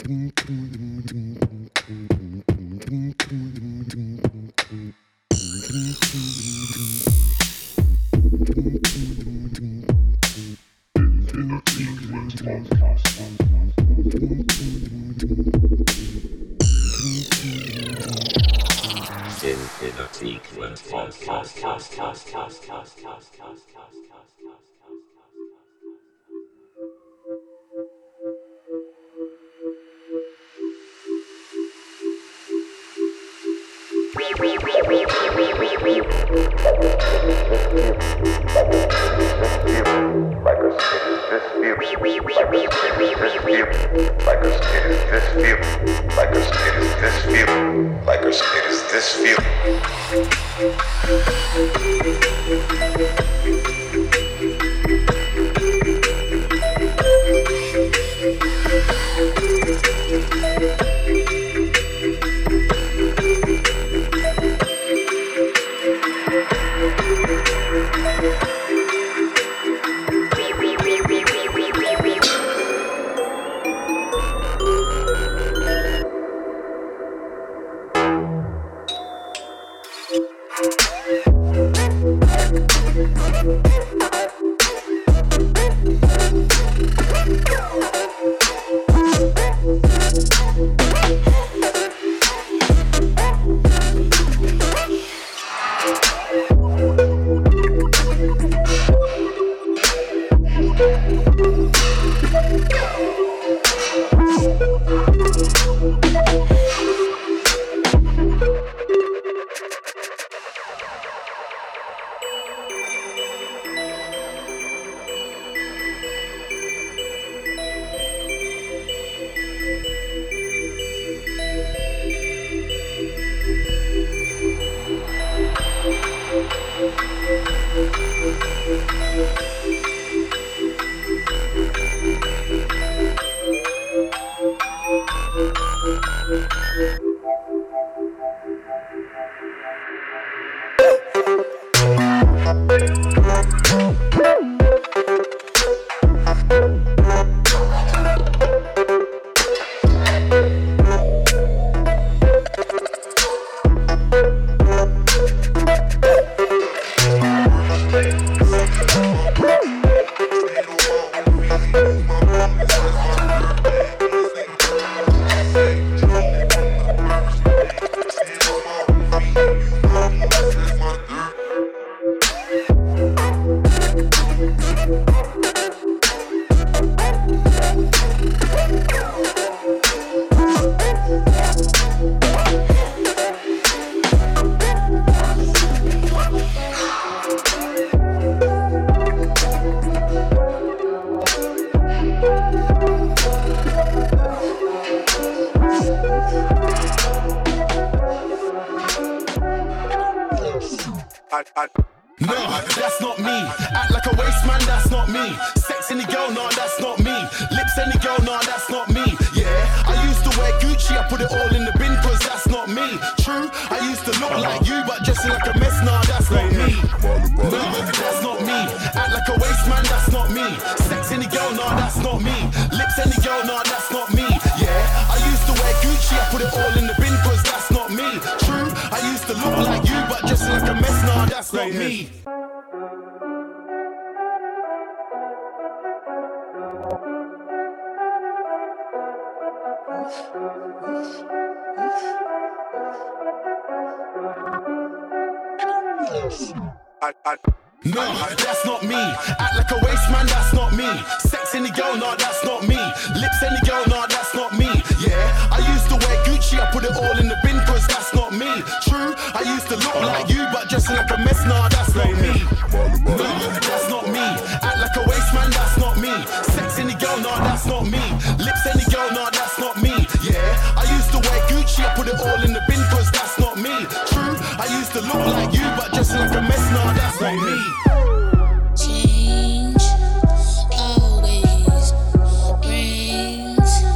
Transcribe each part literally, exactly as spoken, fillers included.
Change always brings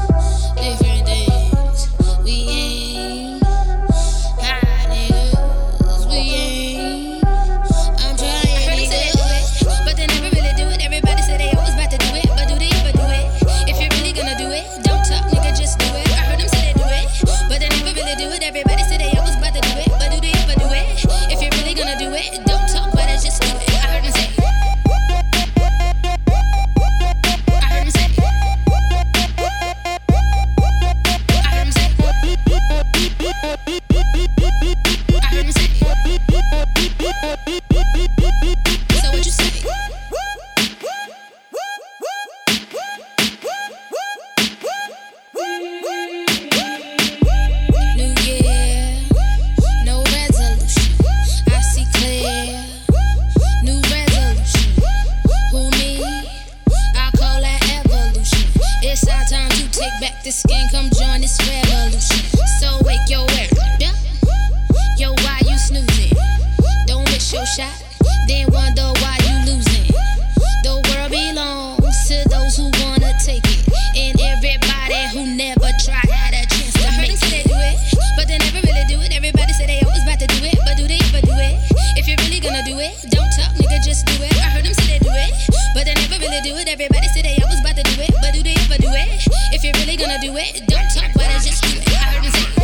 the skin, come join this revolution. So wake your world up. Yo, why you snoozing? Don't miss your shot, then wonder why you losing. The world belongs to those who wanna take it, and everybody who never tried had a chance to make it. They do it, but they never really do it. Everybody say they always about to do it, but do they ever do it? If you're really gonna do it, don't talk, nigga, just do it. I heard them say they do it, but they never really do it. Everybody say they always about to do it, but do they ever do it? If you're really gonna do it, don't talk, but just do it. I heard them say it.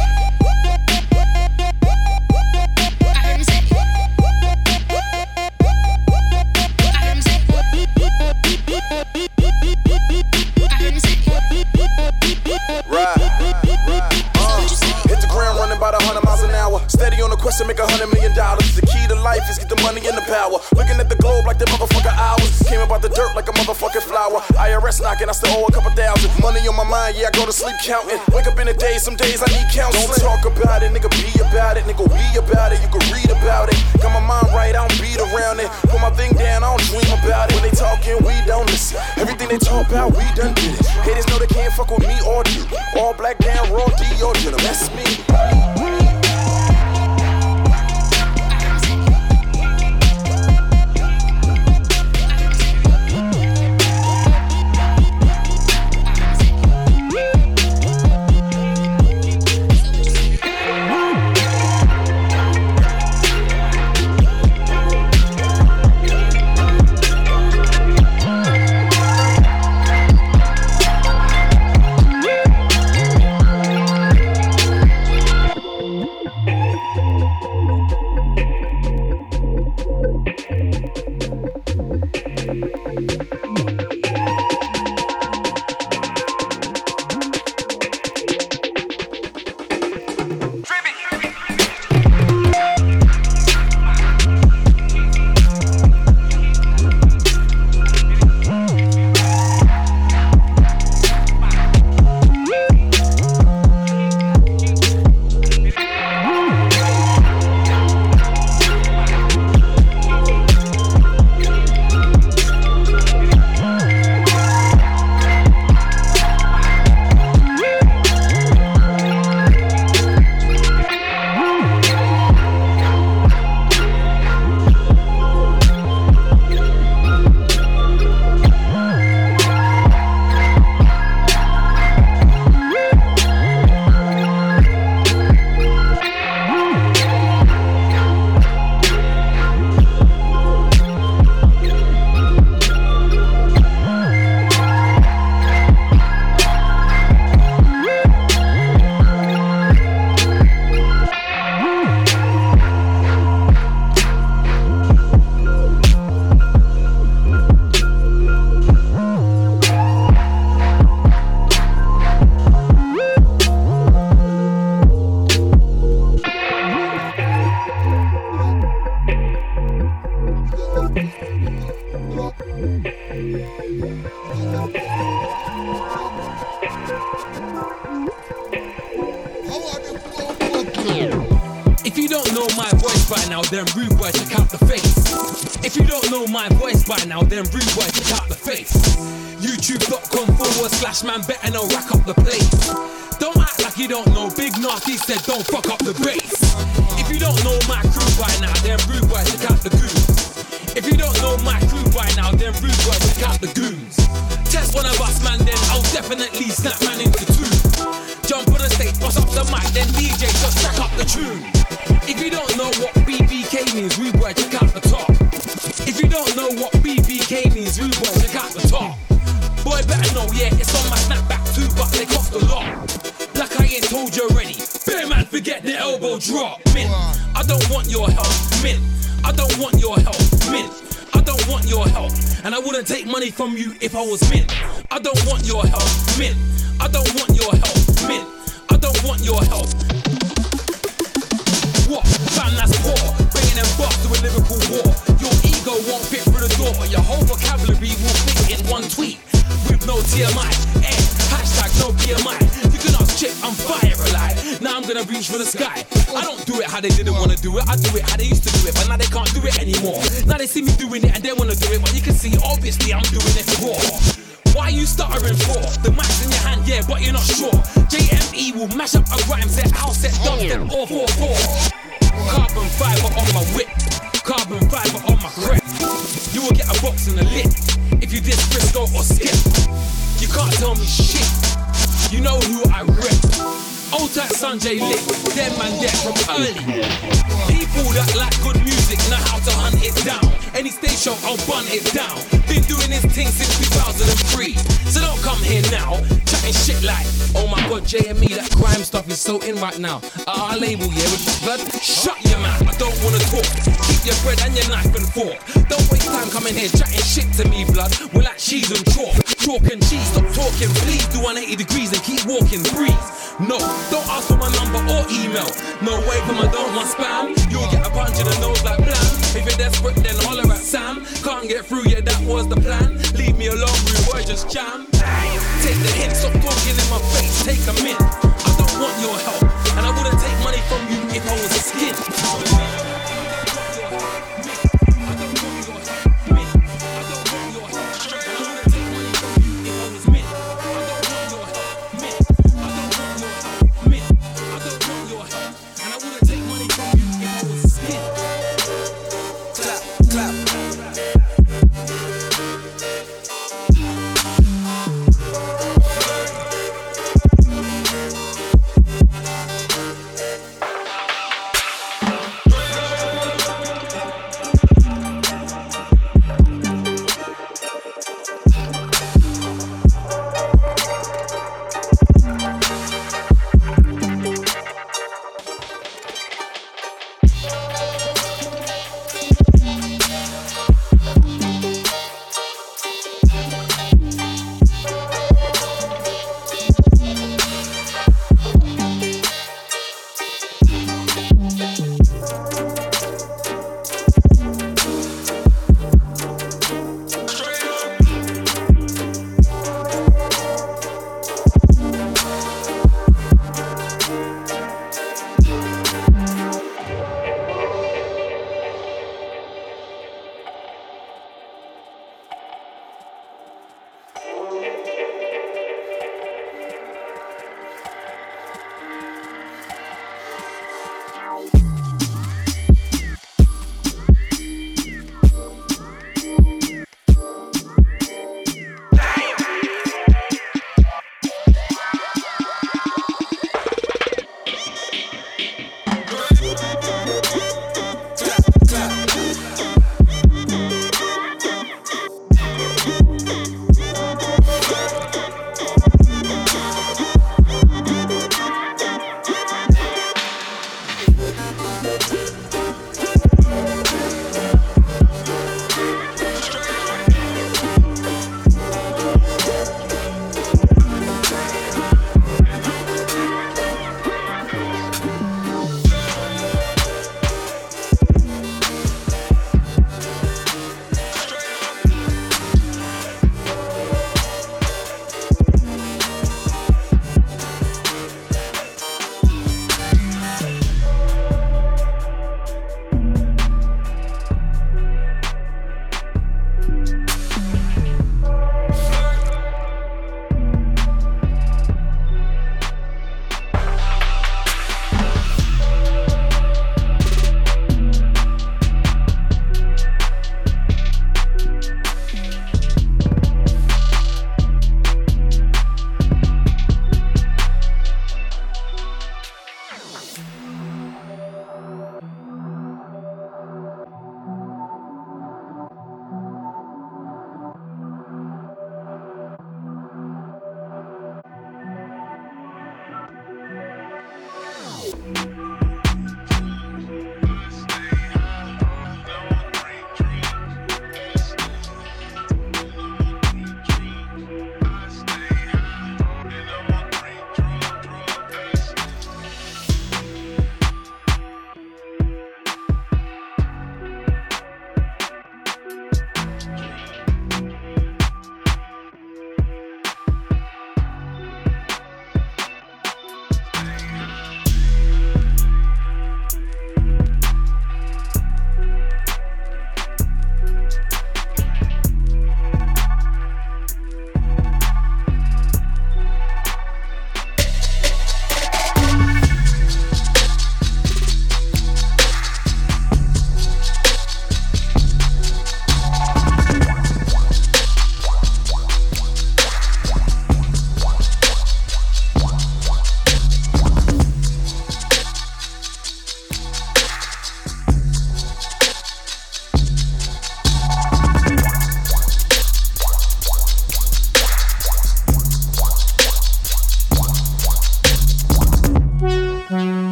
I heard them say it. I heard them say it. I heard them say it. Right. Uh, hit the ground running about a hundred miles an hour. Steady on the quest to make a hundred million dollars. The key to life is get the money and the power. Looking at the globe like the motherfucker hours. Came about the dirt like a motherfucking flower. I R S knocking, I still owe a couple thousand. Money on my mind, yeah, I go to sleep counting. Wake up in the day, some days I need counseling. Don't talk about it, nigga, be about it. Nigga, we about it, you can read about it. Got my mind right, I don't beat around it. Put my thing down, I don't dream about it. When they talking, we don't listen. Everything they talk about, we done did it. Haters know they can't fuck with me or you. All black down, raw D or denim, that's me. If you don't know my voice by now, then rude boy, check out the face. If you don't know my voice by now, then rude boy, check out the face. YouTube.com forward slash man better now rack up the place. Don't act like you don't know, Big Nasty said don't fuck up the bass. If you don't know my crew by now, then rude boy, check out the goons. If you don't know my crew by now, then rude boy, check out the goons. Test one of us man, then I'll definitely snap man into two. Jump on the stage, bust up the mic, then D J just track up the tune. If you don't know what B B K means, rude boy, check out the top. If you don't know what B B K means, rude boy, check out the top. Boy, better know, yeah, it's on my snapback too, but they cost a lot. Like I ain't told you already, bear man, forget the elbow drop. Min, I don't want your help. Min, I don't want your help. Min, I don't want your help. And I wouldn't take money from you if I was min. I don't want your help. Min, I don't want your help. Min, I don't want your help. What? Fam, that's poor. Bringing them bucks to a lyrical war. Your ego won't fit through the door, but your whole vocabulary will fit in one tweet. With no T M I, eh, hashtag no B M I. You can ask Chip, I'm fire alive. Now I'm gonna reach for the sky. I don't do it how they didn't wanna do it. I do it how they used to do it, but now they can't do it anymore. Now they see me doing it and they wanna do it, but you can see obviously I'm doing it for. Why are you stuttering for? The mic's in your hand, yeah, but you're not sure. J M E will mash up a rhyme set, house set, dubstep, all four four. Carbon fiber on my whip, carbon fiber on my crep. You will get a box and a lip if you diss Frisco or Skip. You can't tell me shit, you know who I rep. Old type Sanjay Lit, them man there from early. People that like good music know how to hunt it down. Any stage show, I'll bun it down. Been doing this thing since two thousand three. So don't come here now, chatting shit like, oh my god, J M E, that grime stuff is so in right now. At our label, yeah, with blood, shut your mouth, I don't wanna talk. Keep your bread and your knife and fork. Don't waste time coming here chatting shit to me, blood. We're like cheese and chalk. Chalk and cheese, stop talking, please. Do one eighty degrees and keep walking, breathe. No, don't ask for my number or email. No way for my don't want spam. You'll get a punch in the nose like blam. If you're desperate, then holler at Sam. Can't get through, yeah, that was the plan. Leave me alone, rude boy, just jam. Take the hint, stop talking in my face. Take a mint. I don't want your help, and I wouldn't take money from you if I was a skin.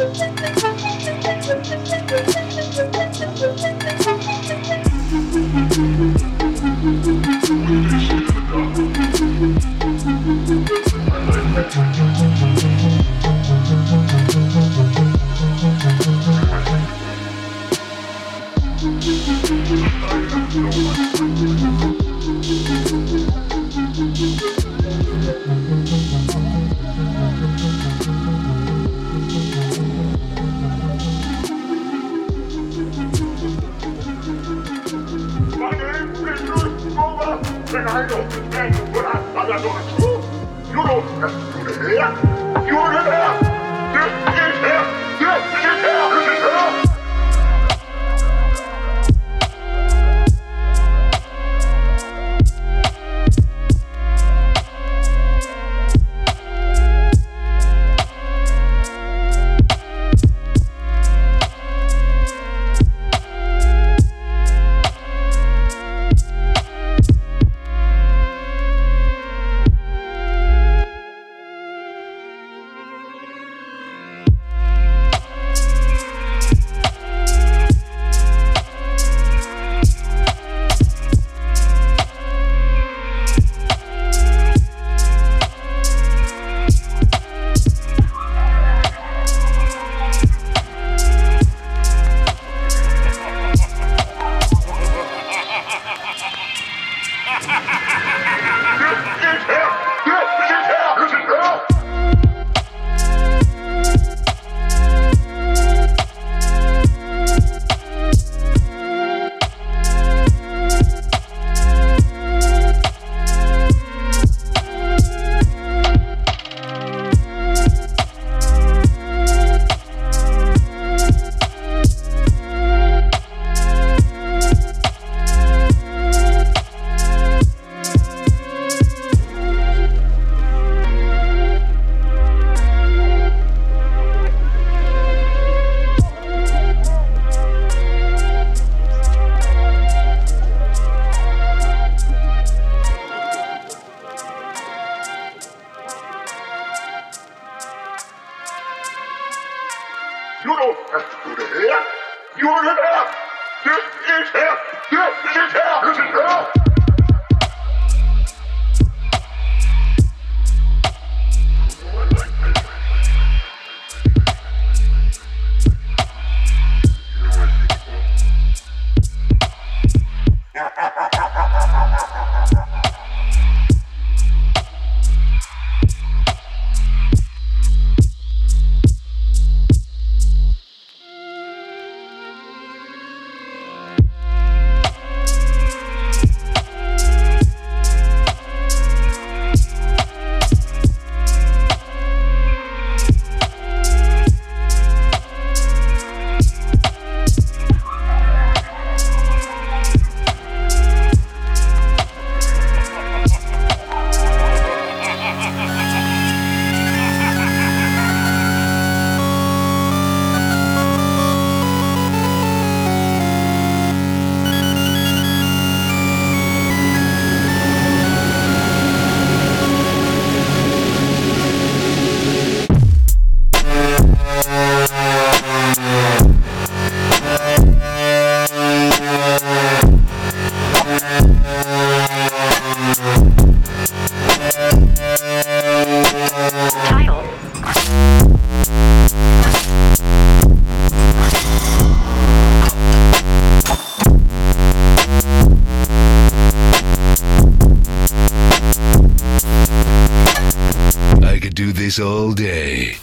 this all day.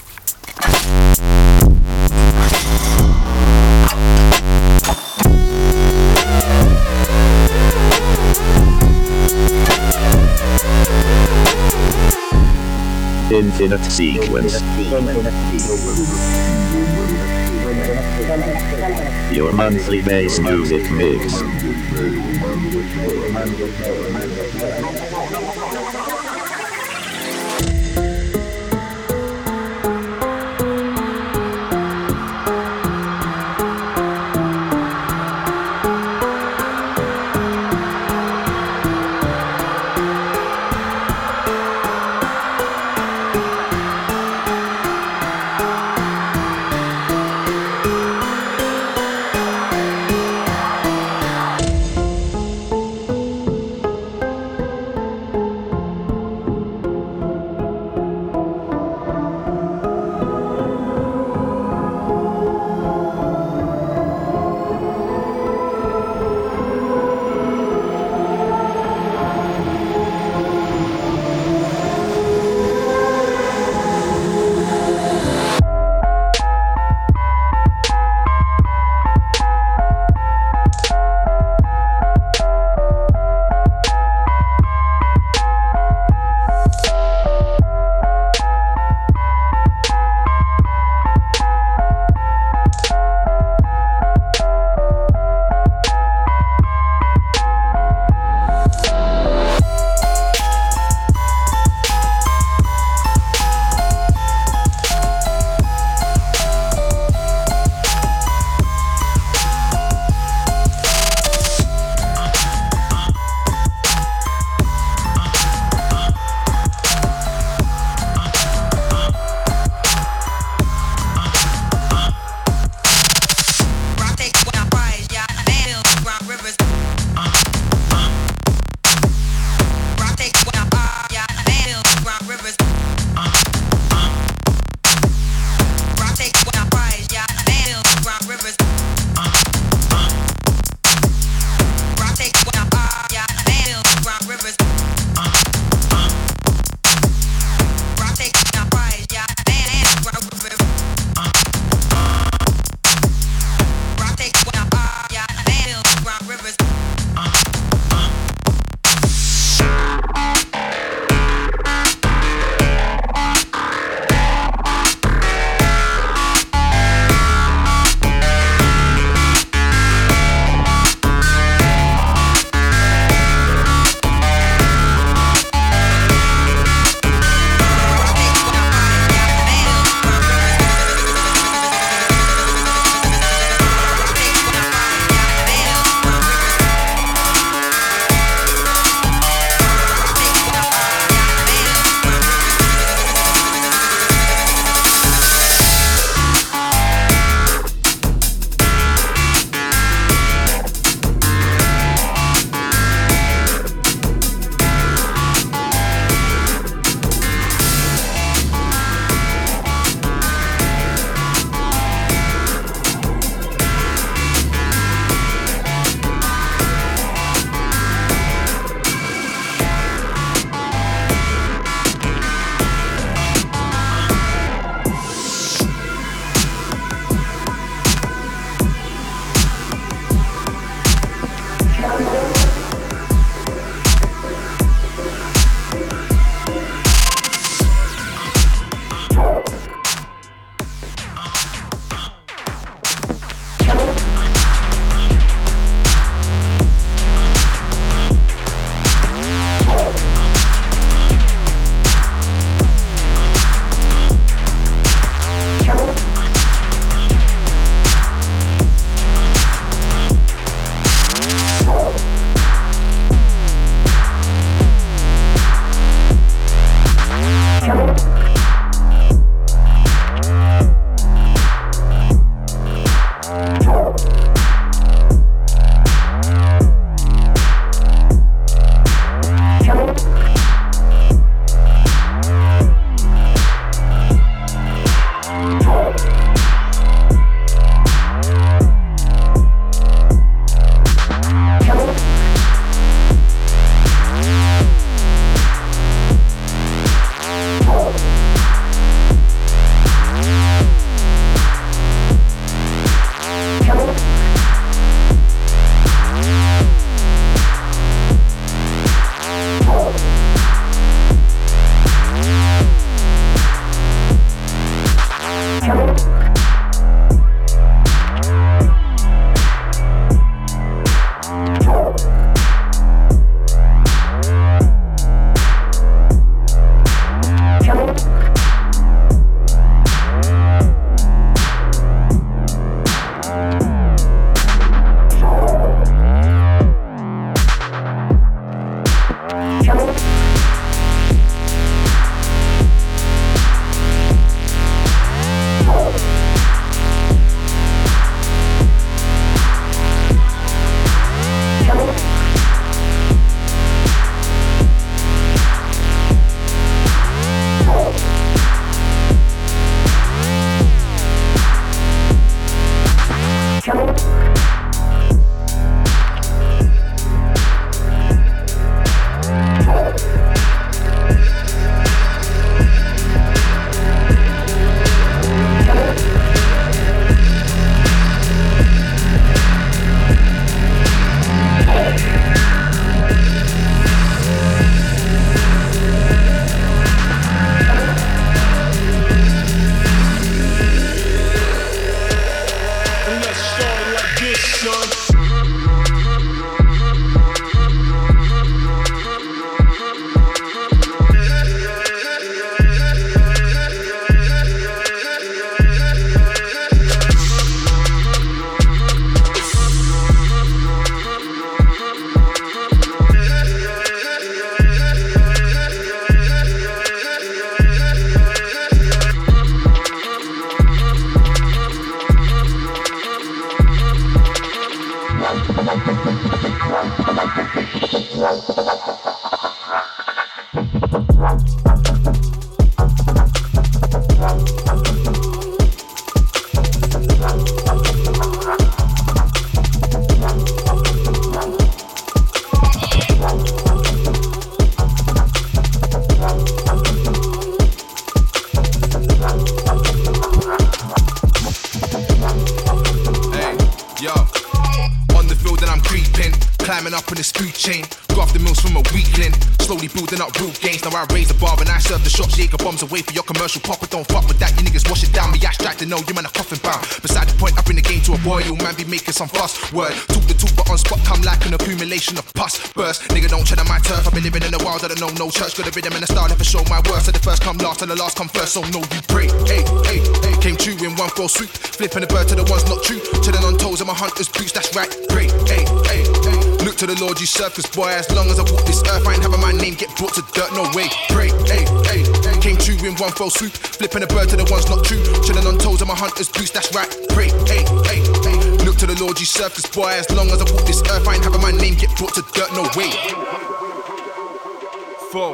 Infinite Sequence. Your monthly bass music mix. Climbing up on the food chain, graph the mills from a weakling. Slowly building up real gains. Now I raise the bar and I serve the shots. Jaeger bombs away for your commercial pop. But don't fuck with that, you niggas wash it down. Me abstract to know you man a coffin bound. Beside the point, I bring the game to a boil. Man be making some fuss. Word, talk the talk but on spot come like an accumulation of pus. Burst, nigga don't tread on my turf. I've been living in the wild, I don't know no church. Got a rhythm and a style, never show my worth. So the first come last and the last come first. So know you pray. Hey, hey, hey. Came true in one fell swoop. Flipping the bird to the ones not true. Chilling on toes of my hunter's boots. That's right. Pray. Hey, hey, hey. Look to the Lord you serve, cause boy, as long as I walk this earth, I ain't having my name get brought to dirt, no way. Pray, hey, hey, hey. Came true in one fell swoop, flipping the bird to the ones not true. Chilling on toes of my hunter's boots, that's right. Pray, hey, hey, hey. Look to the Lord you serve, cause boy, as long as I walk this earth, I ain't having my name get brought to dirt, no way. Four.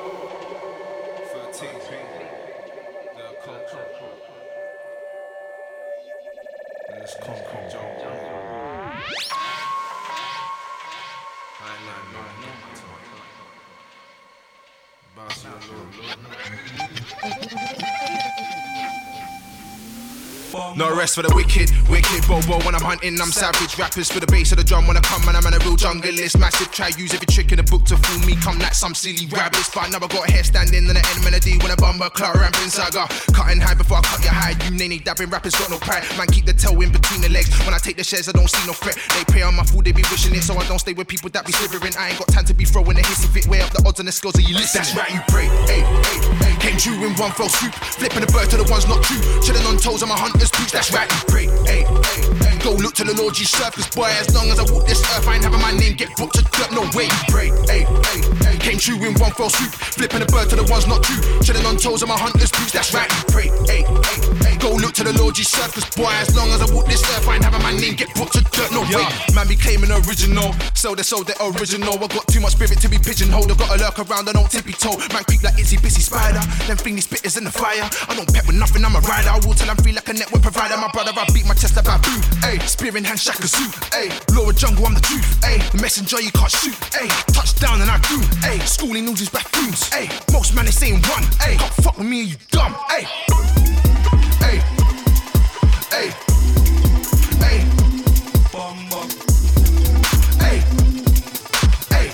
No rest for the wicked, wicked bobo. When I'm hunting, I'm savage. Rappers for the bass of the drum. When I come, man, I'm on a real junglist. Massive, try use every trick in the book to fool me. Come like some silly rabbits. But now I got hair standing in the M and a D. When I bumper, Clara ramping saga. Cutting high before I cut your hide. You nanny dabbing rappers got no pride. Man, keep the tail in between the legs. When I take the shares, I don't see no threat. They pay on my food, they be wishing it. So I don't stay with people that be slithering. I ain't got time to be throwing the hiss of it. Way up the odds and the skills of you listen. That's right, you pray. Hey, hey, hey. Came true in one fell swoop. Flipping the bird to the ones not true. Chilling on toes of my hunter's boots. That's right, you pray. Hey, hey, hey. Go look to the Lord you serve, cause boy, as long as I walk this earth, I ain't having my name get booked to dirt, no way. Pray, hey, hey, hey. Came true in one fell swoop, flipping the bird to the ones not true. Chilling on toes of my hunter's boots, that's right. Pray, hey, hey, hey. Go look to the Lord you serve, cause boy, as long as I walk this earth, I ain't having my name get booked to dirt, no way. Man be claiming original, so they sold the original. I got too much spirit to be pigeonholed. I gotta lurk around, I don't tippy toe. Man creep like itsy bitsy spider. Them thingy spitters in the fire. I don't pet with nothing, I'm a rider. I will till I'm free like a network provider. My brother, I beat my chest about boom. Ayy, spear in hand, shaka suit. Ayy, Laura Jungle, I'm the truth. Ayy, the messenger you can't shoot. Ayy, touchdown and I do. Ayy, schooling loses bathrooms. Ayy, most man they saying one. Ayy, can't fuck with me, you dumb. Ayy, ayy, ayy, ayy, bum bum. Ayy, ayy,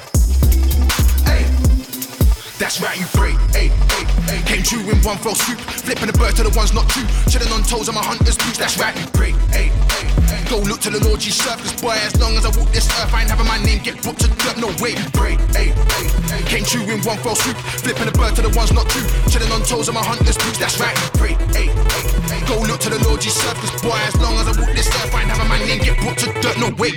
ayy. That's right, you pray. Ayy, ayy, ayy. Came true in one fell swoop, flipping the bird to the ones not true. Chilling on toes of my hunter's boots. That's right, you pray. Ayy, ayy, ayy. Go look to the Lord you serve, cause boy, as long as I walk this earth, I ain't having my name get booked to dirt, no way. Pray, ayy, ayy, ayy. Came true in one fell swoop, flipping the bird to the ones not true. Chilling on toes of my hunter's boots. That's right, pray, ayy, ayy, ayy. Go look to the Lord you serve, cause boy, as long as I walk this earth, I ain't having my name get booked to dirt, no way.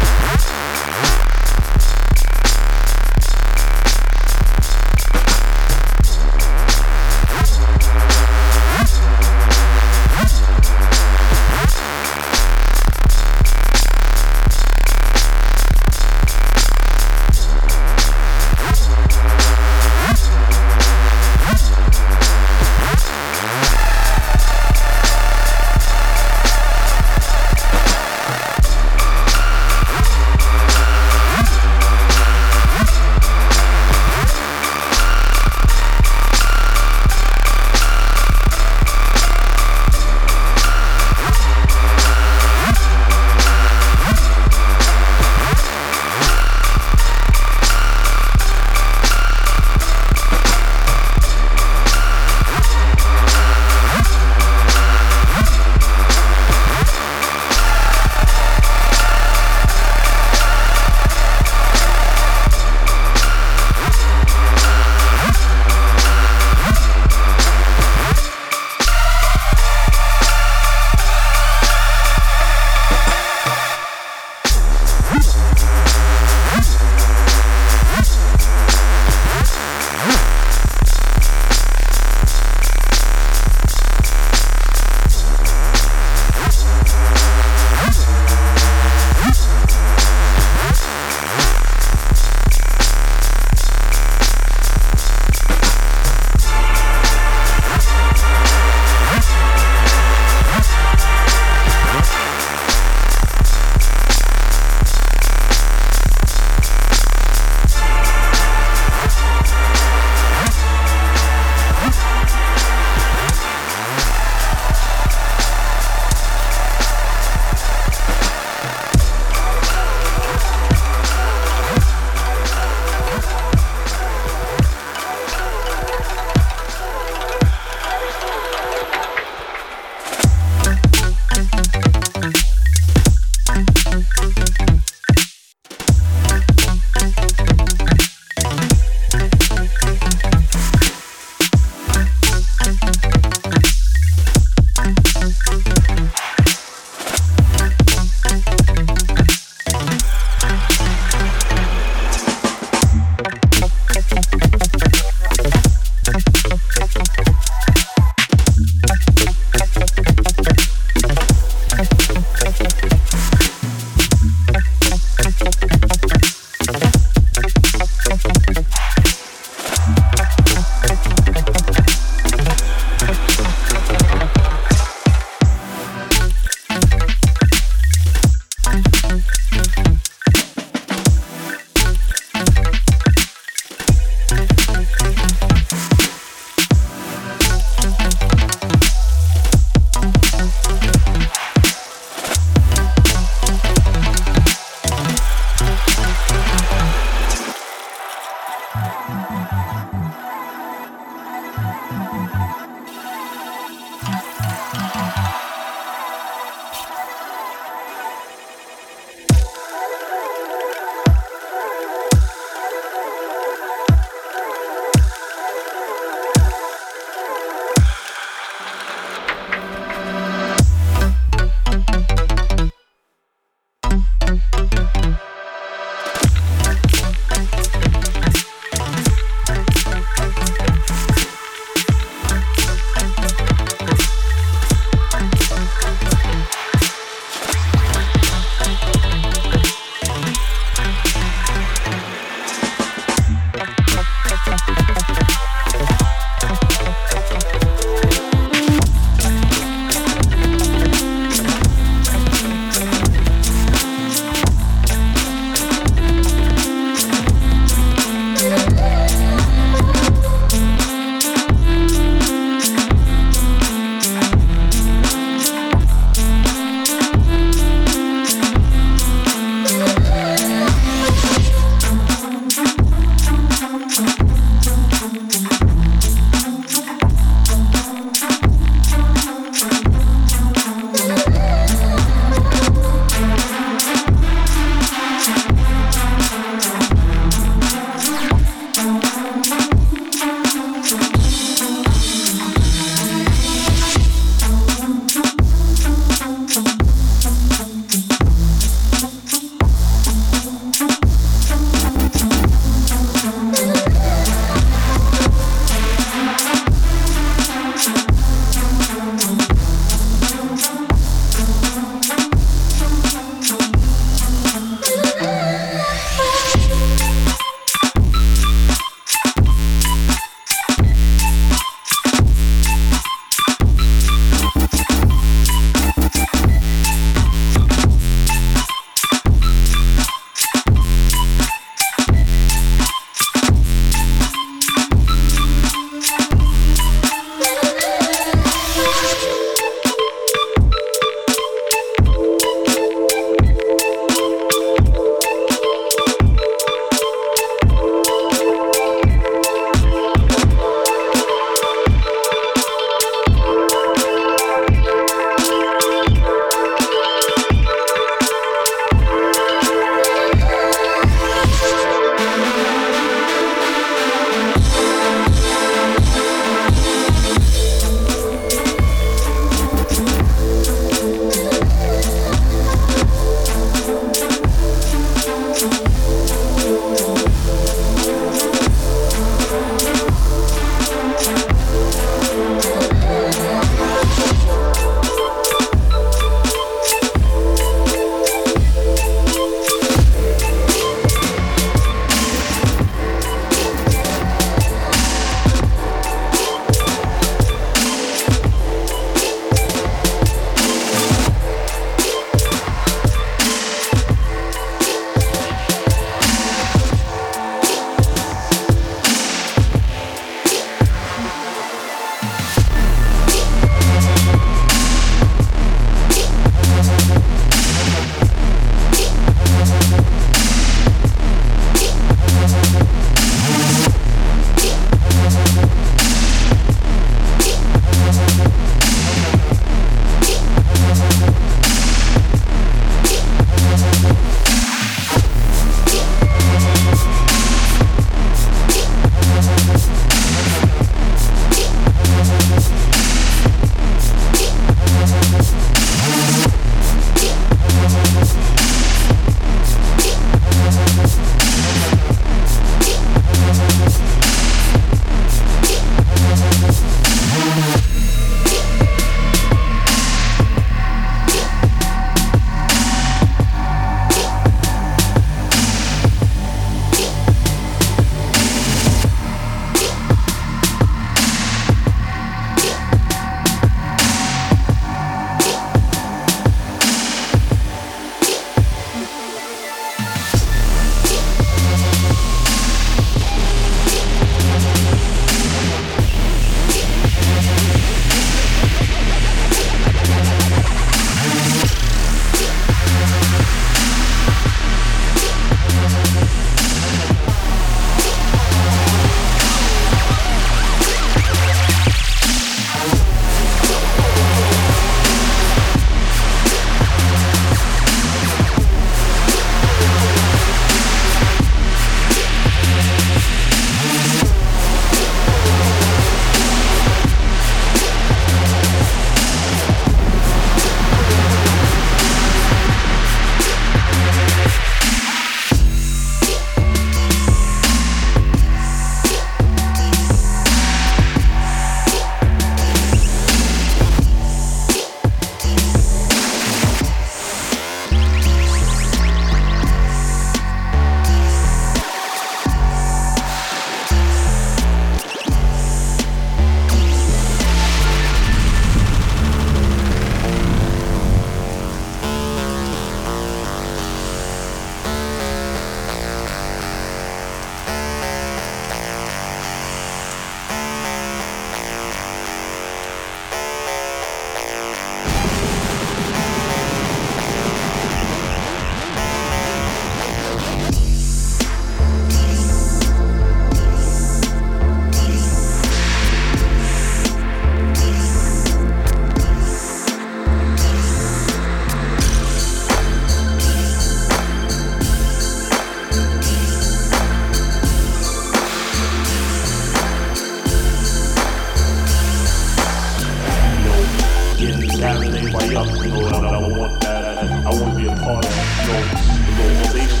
something, you know, and I, I want that. I want to be a part of, you know, the organization.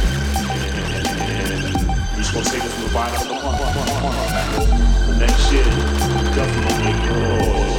And, and we're just gonna take it from the bottom of the month. The next year, definitely, oh.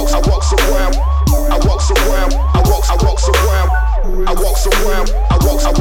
I walk, I walk,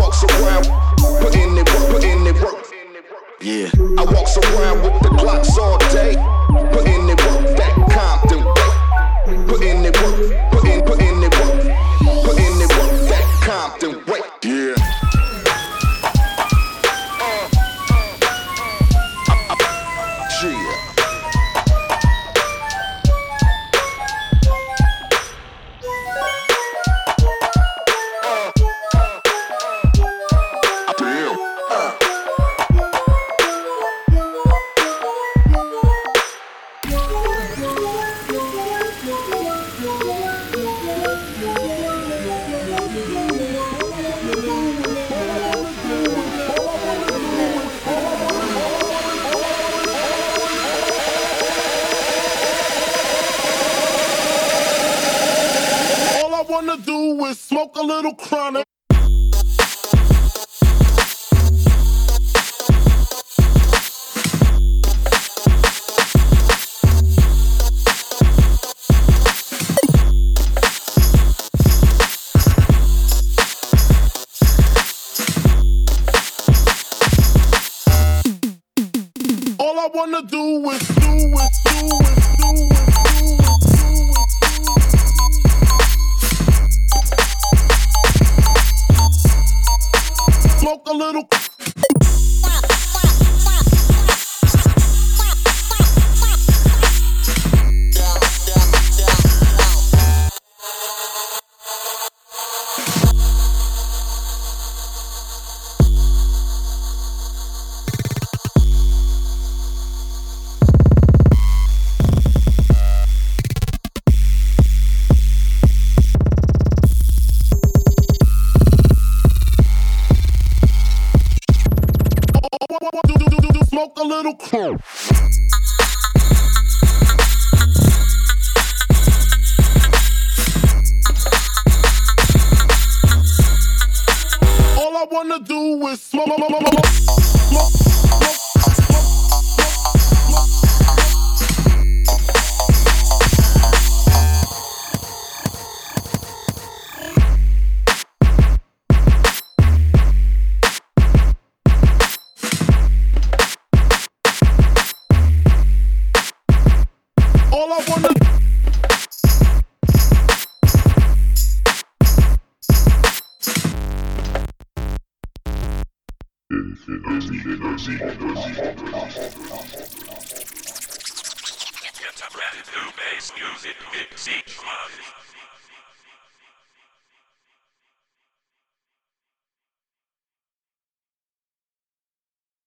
wanna do is smoke a little chronic. All I wanna do is do is do is do is do is smoke a little. Smoke a little crow. All I wanna do is smoke, smoke, smoke, smoke, smoke. All I wanna Get a brand new bass music mix each month.